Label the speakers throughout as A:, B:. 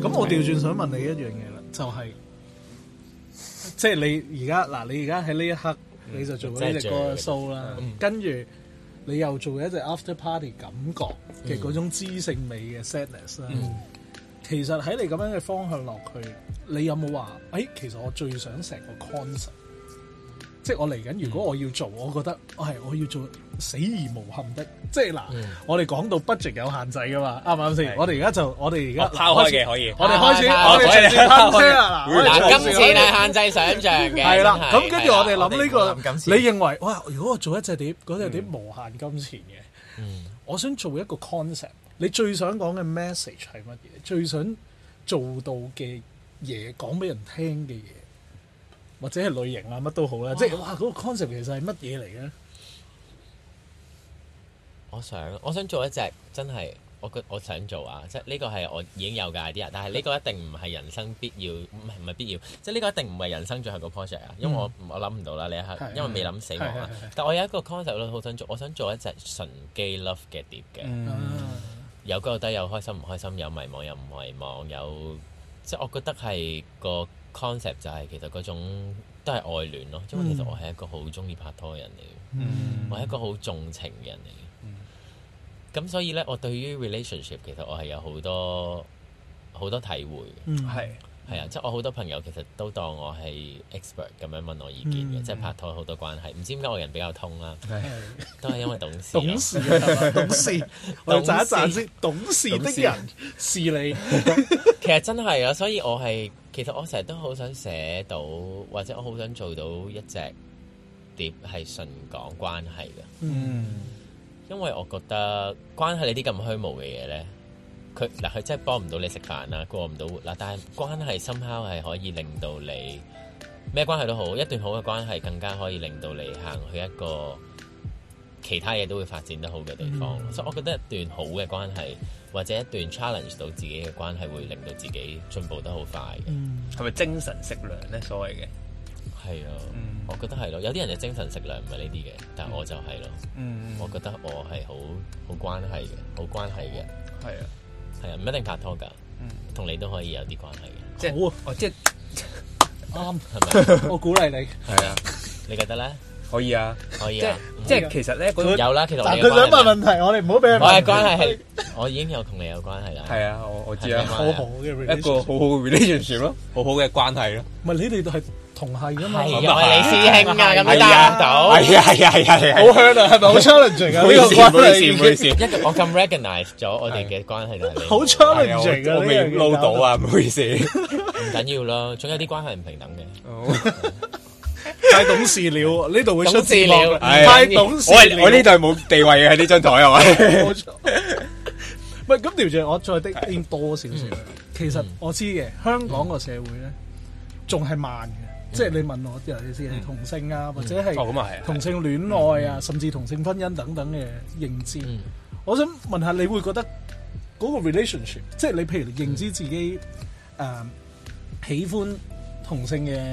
A: 咁我調轉想問你一樣嘢啦，就係即係你而家嗱，你而家喺呢一刻你就做咗呢隻歌嘅 show 啦，跟住你又做一隻 after party 感覺嘅嗰種知性美嘅 sadness 啦。其實喺你咁樣嘅方向落去，你有冇話其實我最想成個 concept， 即係我嚟緊，如果我要做，我覺得我要做死而無憾的，即係嗱，我哋講到 budget 有限制噶嘛，啱唔啱先？我哋而家拋開嘅可以，我哋開始直接噴車啦。
B: 嗱，金錢係限制想像嘅，
A: 係啦。咁跟住我哋諗呢個，你認為哇？如果我做一隻碟，嗰隻碟無限金錢嘅，我想做一個 concept。你最想講嘅 message 係乜嘢？最想做到嘅嘢，講俾人聽嘅嘢，或者係類型啊，乜都好啦。即係哇，嗰個 concept 其實係乜嘢嚟嘅？
B: 我想做一隻真係，我想做啊！即係呢個係我已經有嘅 idea，但係呢個一定唔係人生必要，唔係必要。即係呢個一定唔係人生最後個 project 啊！因為我諗唔到啦，呢一刻，因為未諗死亡啊。但我有一個 concept 咧，好想做，我想做一隻純基 love 嘅碟嘅。有高有低，有開心唔開心，有迷茫有唔迷茫，有即係我覺得係個 concept 就係其實嗰種都係愛戀咯。因為其實我係一個好中意拍拖嘅人嚟嘅，我係一個好重情嘅人嚟嘅。咁所以咧，我對於 relationship 其實我係有好多體會嘅。係啊，即係我好多朋友其實都當我係 expert 咁樣問我意見嘅，即係拍拖好多關係。唔知點解我人比較通啦，都係因為懂事。懂事，
A: 我哋讚一讚先。懂事的人是你。
B: 其實真係啊，所以其實我成日都好想寫到，或者我好想做到一隻碟係純講關係嘅。因為我覺得關係你啲咁虛無嘅嘢咧。佢真係幫唔到你食飯啦，過唔到活啦。但係關係somehow係可以令到你咩關係都好，一段好嘅關係更加可以令到你行去一個其他嘢都會發展得好嘅地方。所以我覺得一段好嘅關係或者一段 challenge 到自己嘅關係，會令到自己進步得好快嘅。
C: 係咪精神食糧咧？所謂嘅
B: 係啊，我覺得係咯。有啲人就精神食糧唔係呢啲嘅，但係我就係咯。我覺得我係好關係嘅，好關係嘅。
C: 係啊。
B: 係啊，唔一定拍拖㗎，同你都可以有啲關係嘅。
C: 即係好即係
A: 啱，係咪？我鼓勵你。
B: 係啊，你覺得咧？
C: 可以啊，
B: 可以啊。
C: 即係其實咧，
B: 有啦。其實
A: 但佢想問問題，我哋唔好俾佢問。
B: 我嘅關係係，我已經有同你有關係啦。
C: 係啊，我知啊，
A: 好好嘅
C: 一個好好嘅 relationship 咯，好好嘅關係咯。
A: 唔係你哋都係同係㗎嘛？
B: 係啊，我係你師兄啊，咁樣答到。
C: 係啊，
A: 好香啊，係咪好 challenging 啊？呢個關係，
C: 唔好意思，
B: 我咁 recognize 咗我哋嘅關係就係你。
A: 好 challenging 啊！
C: 我未撈到啊，唔好意思。
B: 唔緊要咯，總有啲關係唔平等嘅。
A: 太懂事了，呢度會出
B: 事了。
A: 太懂事，
C: 我呢度係冇地位嘅喺呢張台係咪？
A: 冇錯。唔係咁調轉，我再的多少少。其實我知嘅，香港個社會咧仲係慢嘅，即係你問我，尤其是係同性啊，或者係同性戀愛啊，甚至同性婚姻等等嘅認知。我想問下，你會覺得嗰個 relationship， 即係你譬如你認知自己喜歡同性嘅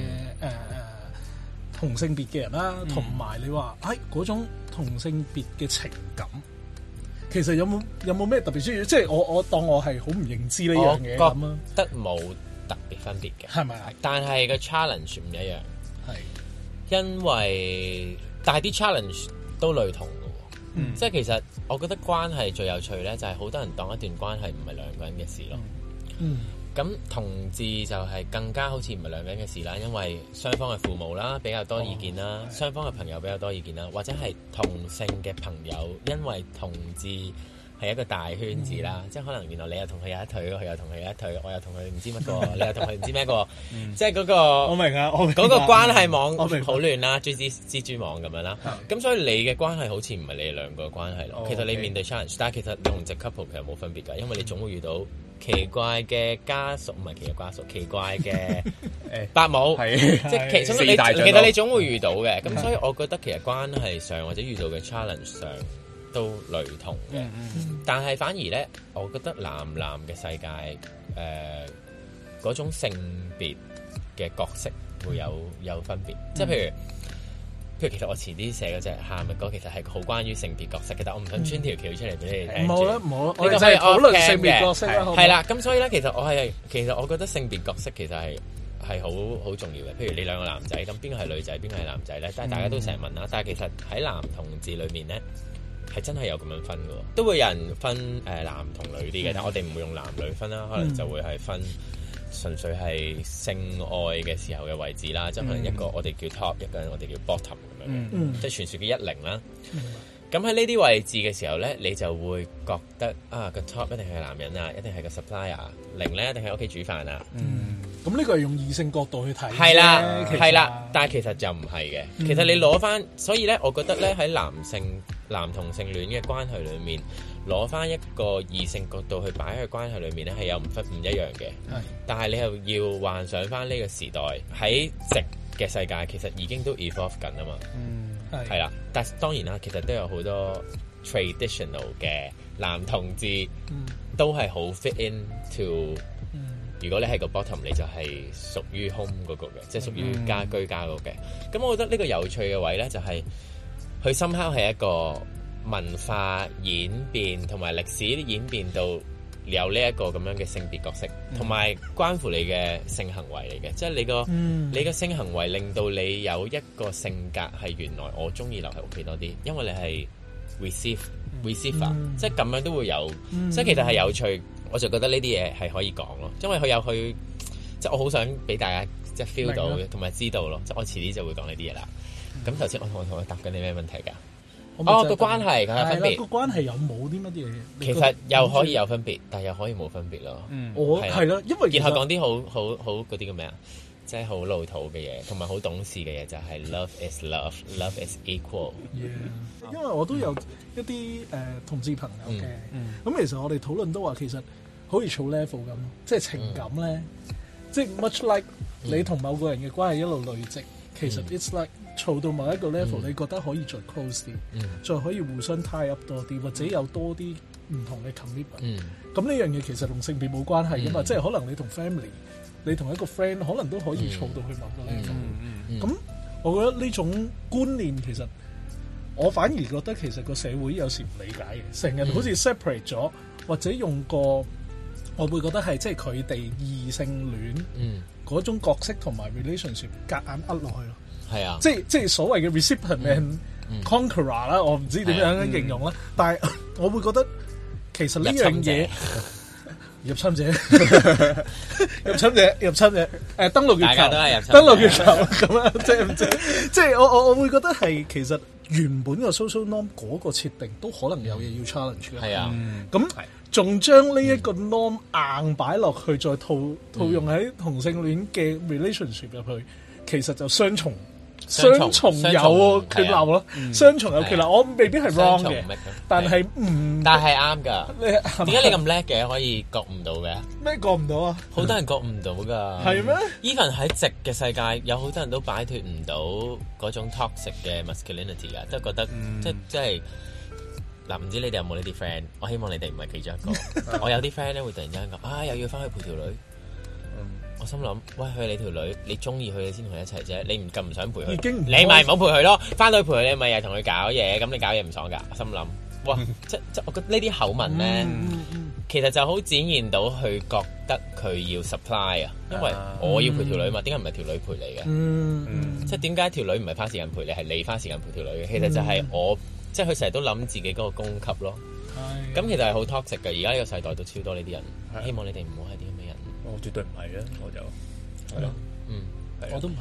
A: 同性別嘅人啦，同埋你話嗰種同性別嘅情感，其實有冇咩特別需要？即係我當我係好唔認知呢樣嘢咁啊，
B: 得冇特別分別嘅，
A: 係咪啊？
B: 但係個 challenge 唔一樣，係因為但係啲 challenge 都類同嘅喎，即係其實我覺得關係最有趣咧，就係好多人當一段關係唔係兩個人嘅事咯。咁同志就係更加好似唔係兩個人嘅事啦，因為雙方嘅父母啦比較多意見啦，雙方嘅朋友比較多意見啦，或者係同性嘅朋友，因為同志係一個大圈子啦，即係可能原來你又同佢有一腿，佢又同佢有一腿，我又同佢唔知乜個，你又同佢唔知咩個，即係嗰個
A: 我明啊，
B: 嗰個關係網好亂啦，蜘蛛網咁樣啦。咁所以你嘅關係好似唔係你哋兩個嘅關係咯。其實你面對 challenge，但係其實你同直 couple 其實冇分別㗎，因為你總會遇到奇怪嘅家屬，唔係奇怪家屬，奇怪嘅伯母，即係其實你總會遇到嘅。咁所以我覺得其實關係上或者遇到嘅 challenge 上都類同嘅。但係反而咧，我覺得男嘅世界嗰種性別嘅角色會有分別。即係如其實我前啲寫嗰隻喊嘅歌，其實係好關於性別角色嘅，但我唔想穿條橋出嚟俾你哋聽。
A: 冇啦冇啦，我哋就係討論性別角色啦。
B: 係啦，咁所以咧，其實我覺得性別角色其實係好重要嘅。譬如你兩個男仔，咁邊個係女仔，邊個係男仔咧？但係大家都成日問啦。但係其實喺男同志裏面咧，係真係有咁樣分嘅，都會有人分男同女啲嘅，但我哋唔會用男女分啦，可能就會係分純粹係性愛嘅時候嘅位置啦，即係可能一個我哋叫 top，一個人我哋叫 bottom 咁樣，即係傳説嘅10啦。咁喺呢啲位置嘅時候咧，你就會覺得個 top 一定係男人啊，一定係個 supplier， 0咧一定係屋企煮飯啊。
A: 咁呢個係用異性角度去睇，
B: 係啦，但係其實就唔係嘅。其實你攞翻，所以咧，我覺得咧喺男同性戀嘅關係裏面，攞翻一個異性角度去擺喺關係裏面咧，係有唔一樣嘅。但係你又要幻想翻呢個時代喺直嘅世界，其實已經都 evolve 緊啊嘛。係啦，但係當然啦，其實都有好多 traditional 嘅男同志都係好 fit into。如果你係個 bottom，你就係屬於 home 嗰個嘅，即係屬於居家嗰個嘅。咁我覺得呢個有趣嘅位咧，就係佢深刻係一個文化演變同埋歷史演變到有呢一個咁樣嘅性別角色，同埋關乎你嘅性行為嚟嘅，即係你嘅性行為令到你有一個性格係原來我中意留喺屋企多啲，因為你係 receiver，即係咁樣都會有，即係其實係有趣。我就覺得呢啲嘢係可以講咯，因為佢有去，即係我好想俾大家即係 feel 到同埋知道咯，即係我遲啲就會講呢啲嘢啦。咁頭先我同佢答緊你咩問題㗎？個關係佢有分別，
A: 個關係有冇啲乜嘢？
B: 其實又可以有分別，但係又可以冇分別咯。
A: 我係咯，因為
B: 然後講啲好嗰啲叫咩啊？即係好老土嘅嘢，同埋好懂事嘅嘢，就係 love is love is equal。
A: 因為我都有一啲同志朋友嘅，咁其實我哋討論都話其實好似儲 level 咁，即係情感咧，即係 much like 你同某個人嘅關係一路累積，其實 it's like 儲到某一個 level，你覺得可以再 close 啲，再可以互相 tie up 多啲，或者有多啲唔同嘅 commitment。咁呢樣嘢其實同性別冇關係噶嘛，即係可能你同 family，你同一個 friend 可能都可以儲到去某個 level。咁我覺得呢種觀念其實我反而覺得其實個社會有時唔理解嘅，成日好似 separate 咗，或者用個我會覺得係即係佢哋異性戀嗰種角色同埋 relationship 夾硬呃落去咯。係啊，即係所謂嘅 recipient and conqueror 啦，我唔知點樣形容啦，但係我會覺得其實呢樣嘢入侵者，登陸月球，登陸月球咁樣，即係我會覺得係其實原本個 social norm 嗰個設定都可能有嘢要 challenge 嘅。係啊，咁仲將呢一個 norm 硬擺落去，再套用喺同性戀嘅 relationship 入去，其實就雙重有缺漏咯，雙重有缺漏。我未必係 wrong 嘅，但係
B: 啱㗎。點解你咁叻嘅可以覺唔到嘅？
A: 咩覺唔到啊？
B: 好多人覺唔到㗎。係咩？Even 喺直嘅世界，有好多人都擺脫唔到嗰種 toxic 嘅 masculinity 㗎，都覺得即係嗱，唔知你哋有冇呢啲 friend？ 我希望你哋唔係其中一個。我有啲 friend 咧會突然之間講又要翻去陪條女。我心諗，喂，佢係你條女，你中意佢你先同佢一齊啫，你唔咁唔想陪佢，你咪唔好陪佢咯。翻到去陪佢，你咪又同佢搞嘢，咁你搞嘢唔爽㗎。我心諗，哇，即我覺得呢啲口吻咧，其實就好展現到佢覺得佢要 supply 啊，因為我要陪條女嘛，點解唔係條女陪你嘅？即點解條女唔係花時間陪你，係你花時間陪條女嘅？其實就係我，即佢成日都諗自己嗰個供給咯。咁其實係好 toxic 嘅，而家呢個世代都超多呢啲人，希望你哋唔好係啲咁嘅人。
C: 我絕對唔係啊，我就係咯，
A: 我都唔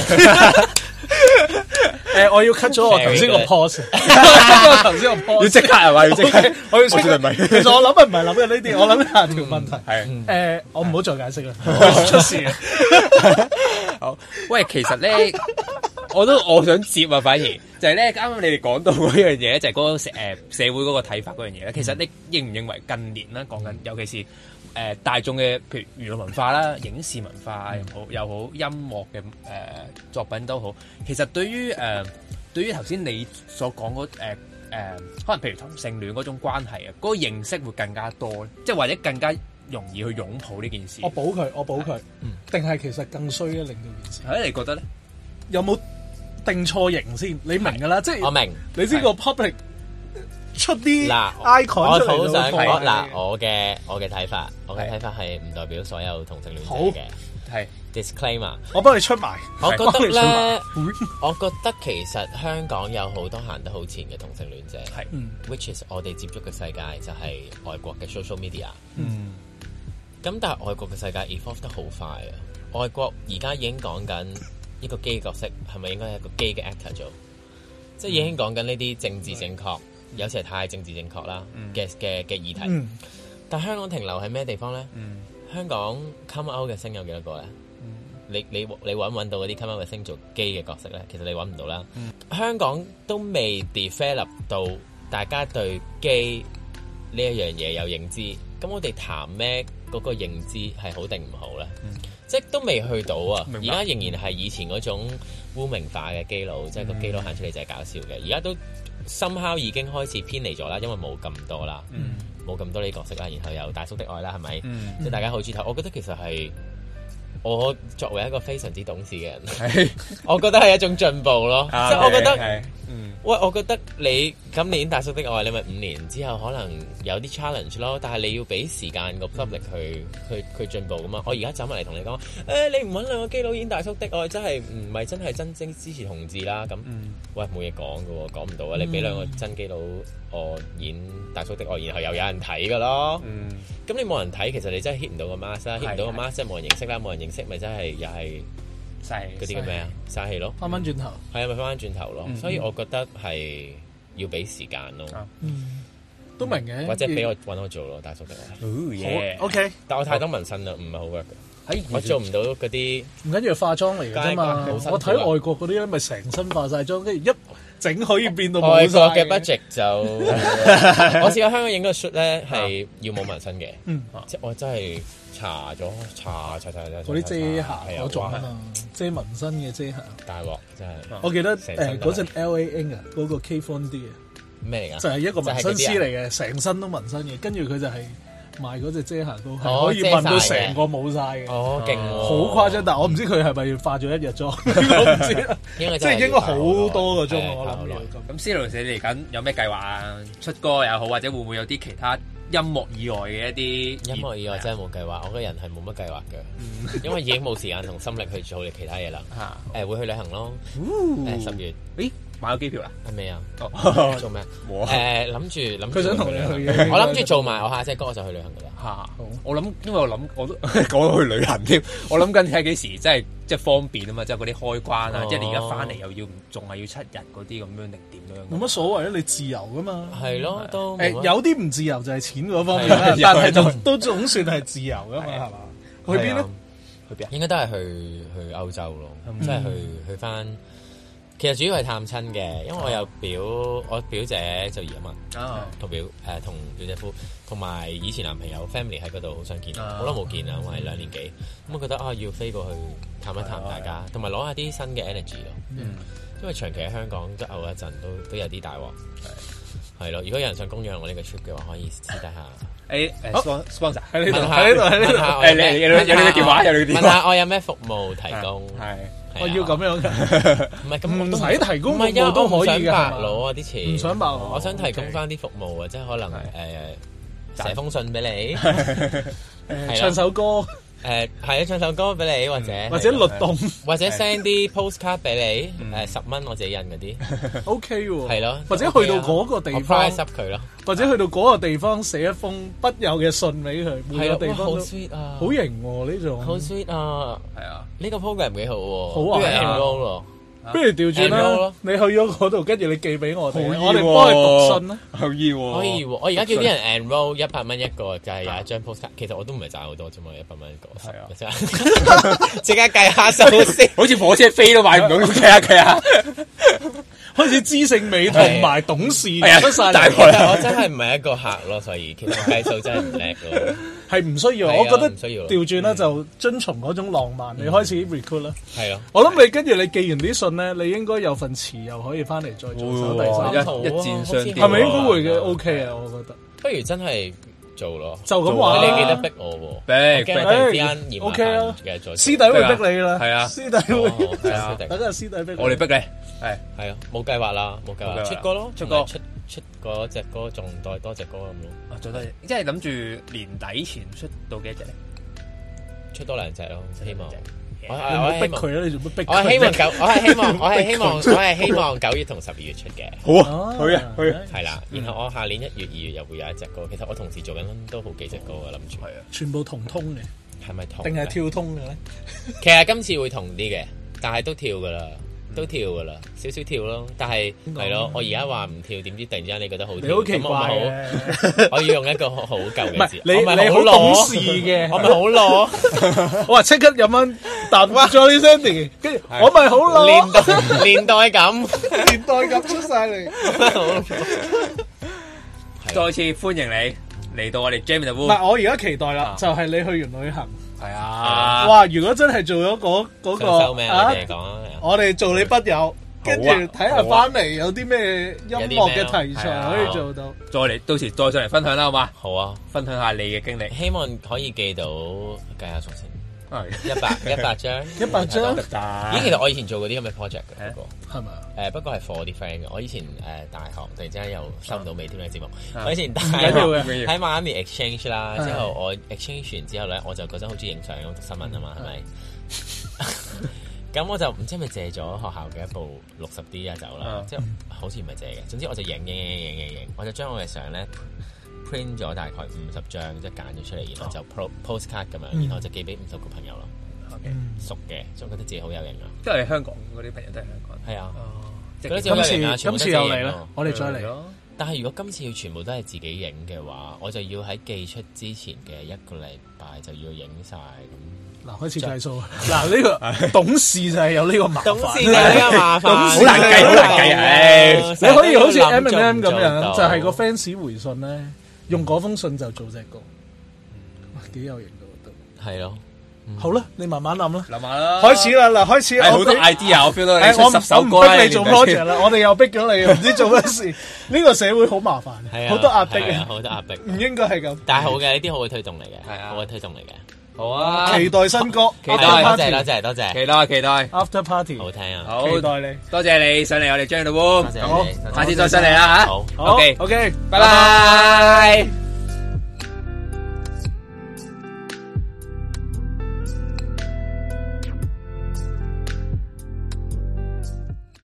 A: 係。我要 cut 咗我頭先個 pose，頭先個 pose
C: 要即刻係嘛？要即刻，我要絕對唔係。
A: 其實我諗唔係諗嘅呢啲，我諗下條問題。係我唔好再解釋啦，出事啊！
C: 好，喂，其實咧，我想接啊，反而就係咧，啱啱你哋講到嗰樣嘢，就係嗰個社會嗰個睇法嗰樣嘢咧。其實你認唔認為近年啦，講緊尤其是大眾嘅，譬如娛樂文化啦、影視文化又好、音樂嘅作品都好，其實對於頭先你所講嗰可能譬如同性戀嗰種關係啊，嗰個認識會更加多，即係或者更加容易去擁抱呢件事。我補佢，定係其實更衰咧，令到件事。 你覺得咧？
A: 有冇定錯型先，你明㗎啦，即係
B: 我明，
A: 你知個 public 出啲
B: 嗱
A: icon 出嚟
B: 我好想
A: 講
B: 嗱我嘅睇法，係唔代表所有同性戀者嘅，
C: 係
B: disclaimer，
A: 我幫你出埋。
B: 我覺得咧，我覺得其實香港有好多行得好前嘅同性戀者，係，which is 我哋接觸嘅世界就係外國嘅 social media，咁但係外國嘅世界 evolve 得好快啊！外國而家已經講緊一個基角色係咪應該係一個基嘅 actor 做，即係已經講緊呢啲政治正確，有時係太政治正確啦嘅議題。但香港停留喺咩地方咧？香港 come out 嘅星有幾多個咧？你揾到嗰啲 come out 嘅星做基嘅角色咧？其實你揾唔到啦。香港都未 develop 到大家對基呢一樣嘢有認知，咁我哋談咩嗰個認知係好定唔好咧？即係都未去到啊！而家仍然係以前嗰種污名化嘅基佬，即係個基佬行出嚟就係搞笑嘅。而家都 somehow 已經開始偏離咗啦，因為冇咁多啦，冇咁多呢啲角色啦，然後有大叔的愛啦，係咪？即係大家好中意睇。我覺得其實係我作為一個非常之懂事嘅人，我覺得係一種進步咯。即係我覺得。喂，我覺得你今年大叔的愛，你咪5年之後可能有啲 challenge 咯，但係你要俾時間個 public 去進步噶嘛。我而家走埋嚟同你講，你唔揾兩個基佬演大叔的愛，真係唔係真係真正支持同志啦。咁，喂冇嘢講噶喎，講唔到啊！你俾兩個真基佬我演大叔的愛，然後又有人睇噶咯。咁你冇人睇，其實你真係 hit 唔到個 mask 啦，hit 唔到個 mask 即係冇人認識啦，冇人認識咪真係又係。嗰啲叫咩啊？嘥氣咯，翻返轉頭，係啊，咪翻返轉頭咯。所以我覺得係要俾時間咯。
A: 都明嘅，
B: 或者俾我揾我做咯，大叔的愛。
A: 好 OK，
B: 但我太多紋身啦，唔係好 work 嘅。我做唔到嗰啲，
A: 唔緊要化妝嚟嘅啫嘛。我睇外國嗰啲咧，咪成身化晒妝，跟住一整可以變到冇晒。外國嘅 budget 就我試過香港影個 shoot 咧，係要冇紋身嘅。即係我真係。搽嗰啲遮瑕嗰種啊，遮紋身嘅遮瑕，大鑊真係。我記得嗰陣 LA Ink 啊，嗰個 K Von D 啊，咩嚟㗎？就係一個紋身師嚟嘅，成身都紋身嘅，跟住佢就係賣嗰隻遮瑕膏，係可以紋到成個冇晒嘅。哦，勁喎！好誇張，但係我唔知佢係咪化咗一日妝，我唔知啦。即係應該好多個鐘我諗。咁司徒你嚟緊有咩計劃啊？出歌又好，或者會唔會有啲其他？音樂以外嘅一啲音樂以外真係冇計劃，我個人係冇乜計劃嘅，因為已經冇時間同心力去做其他嘢啦。會去旅行咯，10月。咦，買咗機票啦？係未啊？做咩？諗住佢想同你去嘅。我諗住做埋我下隻歌，我就去旅行噶啦。我諗，因為我都講到去旅行添。我諗緊睇幾時，即係方便啊嘛，即係嗰啲開關啊，即係你而家翻嚟又要仲係要7日嗰啲咁樣定點樣？冇乜所謂啊，你自由噶嘛。係咯，都有啲唔自由就係錢嗰方面啦，但係都總算係自由噶嘛，係嘛？去邊咧？去邊啊？應該都係去歐洲咯，即係去翻。其實主要係探親嘅，因為我有我表姐就移民，同表姐夫，同埋以前男朋友 family 喺嗰度，好想見，好耐冇見啦，我係2年幾，咁我覺得要飛過去探一探大家，同埋攞下啲新嘅 energy 咯，因為長期喺香港都嘔一陣，都有啲大鑊，係咯。如果有人想供養我呢個 trip 嘅話，可以私底下sponsor 喺呢度，問下有你嘅電話，問下我有咩服務提供，我要咁樣嘅，唔係咁唔使提供服務都可以㗎，白攞啊啲錢，唔想白攞，我想提供翻啲服務啊，即係可能寫封信俾你，唱首歌，係啊，唱首歌俾你，或者律動，或者 send 啲 postcard 俾你，10蚊我自己印嗰啲，OK 喎，係咯，或者去到嗰個地方 price up 佢咯，或者去到嗰個地方寫一封筆友嘅信俾佢，每個地方都好 sweet 啊，好型喎呢種，好 sweet 啊，係啊，呢個 program 幾好喎，好啊 enroll 咯。不如調轉啦，你去咗嗰度，跟住你寄俾我哋，我哋幫你讀信啦。可以喎，可以喎。我而家叫啲人 enroll 100蚊一個，就係有一張 postcard。其實我都唔係賺好多啫嘛，100蚊一個。係啊，即刻計下數先，好似火車飛都買唔到，計下。開始知性美同埋懂事出晒嚟，我真係唔係一個客咯，所以其實計數真係唔叻咯。係唔需要，我覺得調轉啦，就遵從嗰種浪漫，你開始 recruit 啦。係咯，我諗你跟住你寄完啲信咧，你應該有份詞又可以翻嚟再做手第三套，一箭雙雕，係咪應該會嘅？OK 啊，我覺得。不如真係
B: 做咯，
A: 就咁話。
B: 你記得逼我喎，
C: 逼
B: 突然之間嫌麻煩
A: 啊
B: 嘅再。
A: 師弟會逼你啦，
C: 係啊，
A: 師弟會，
C: 係啊，
A: 等陣師弟逼
C: 我哋逼你，
B: 係啊，冇計劃啦，冇計劃，出歌咯，出嗰隻歌，仲再多隻歌咁咯。
C: 做多，即係諗住年底前出到幾隻咧？
B: 出多2隻咯，希望。
A: 我逼佢啦，你做乜逼佢？
B: 我係希望9月同12月出嘅。
C: 好啊，去啊，
B: 係啦，然後我下年1月、2月又會有一隻歌。其實我同時做緊都好幾隻歌嘅，諗住。係啊，
A: 全部同通嘅，
B: 係咪同？
A: 定係跳通嘅咧？
B: 其實今次會同啲嘅，但係都跳噶啦，少少跳咯。但係係咯，我而家話唔跳，點知突然之間你覺得好跳？
A: 你好奇怪
B: 我要用一個好舊嘅字。
A: 你好懂事嘅，
B: 我咪好攞。
A: 我話即刻飲翻啖 Jolly Shandy，跟住我咪好攞。
B: 年代感
A: 出晒嚟。
C: 再次歡迎你嚟到我哋 Jam in the Room。
A: 唔係，我而家期待啦，就係你去完旅行。
C: 係啊！
A: 哇！如果真係做咗嗰個我哋做你筆友，跟住睇下翻嚟有啲咩音樂嘅題材可以做到。
C: 再嚟，到時再上嚟分享啦，好嘛？
B: 好啊，
C: 分享下你嘅經歷。
B: 希望可以記到計下數先。100張。咦，其實我以前做過啲咁嘅 project 嘅，不過
A: 係咪？
B: 不過係 for 啲 friend 嘅。我以前大學突然之間又收唔到尾添嘅節目。我以前大學喺 Miami exchange 啦，之後我 exchange 完之後咧，我就嗰陣好中意影相，咁讀新聞啊嘛，係咪？咁我就唔知係咪借咗學校嘅一部60D 啊走啦，即係好似唔係借嘅。總之我就影，我就將我嘅相咧 print 咗大概50張，即係揀咗出嚟，然後就 postcard 咁樣，然後就寄俾50個朋友咯。熟嘅，所以覺得自己好有型啊！
C: 即係香港嗰啲朋友都係香港。
B: 係啊，
A: 今次又嚟啦，我哋再嚟咯。
B: 但係如果今次要全部都係自己影嘅話，我就要喺寄出之前嘅1個禮拜就要影晒咁。
A: 嗱，開始計數。嗱，呢個董事就係有呢個麻煩。
B: 董事有呢個麻煩，
C: 好難計。
A: 你可以好似 M&M 咁樣，就係個 fans 回信咧，用嗰封信就做隻歌，哇，幾有型㗎都。係咯。好啦，你慢慢諗啦。諗下啦。開始啦，嗱，開始。
C: 好多 idea，我 feel 到你出10首歌。
A: 我唔逼你做 project 啦，我哋又逼咗你，唔知做乜事。呢個社會好麻煩，好多壓迫啊，
B: 好多壓迫。
A: 唔應該係咁。
B: 但係好嘅，呢啲好嘅推動嚟嘅，係啊，好嘅推動嚟嘅。好啊，
A: 期待新歌，
C: 期待，
B: 多謝，
C: 期待。
A: After Party，
B: 好聽啊，
C: 好，
A: 期待你，
C: 多謝你上嚟我哋 Jam in the Room，
B: 好，
C: 下次再上嚟啦吓。
B: 好
C: ，OK，
A: 拜
C: 拜。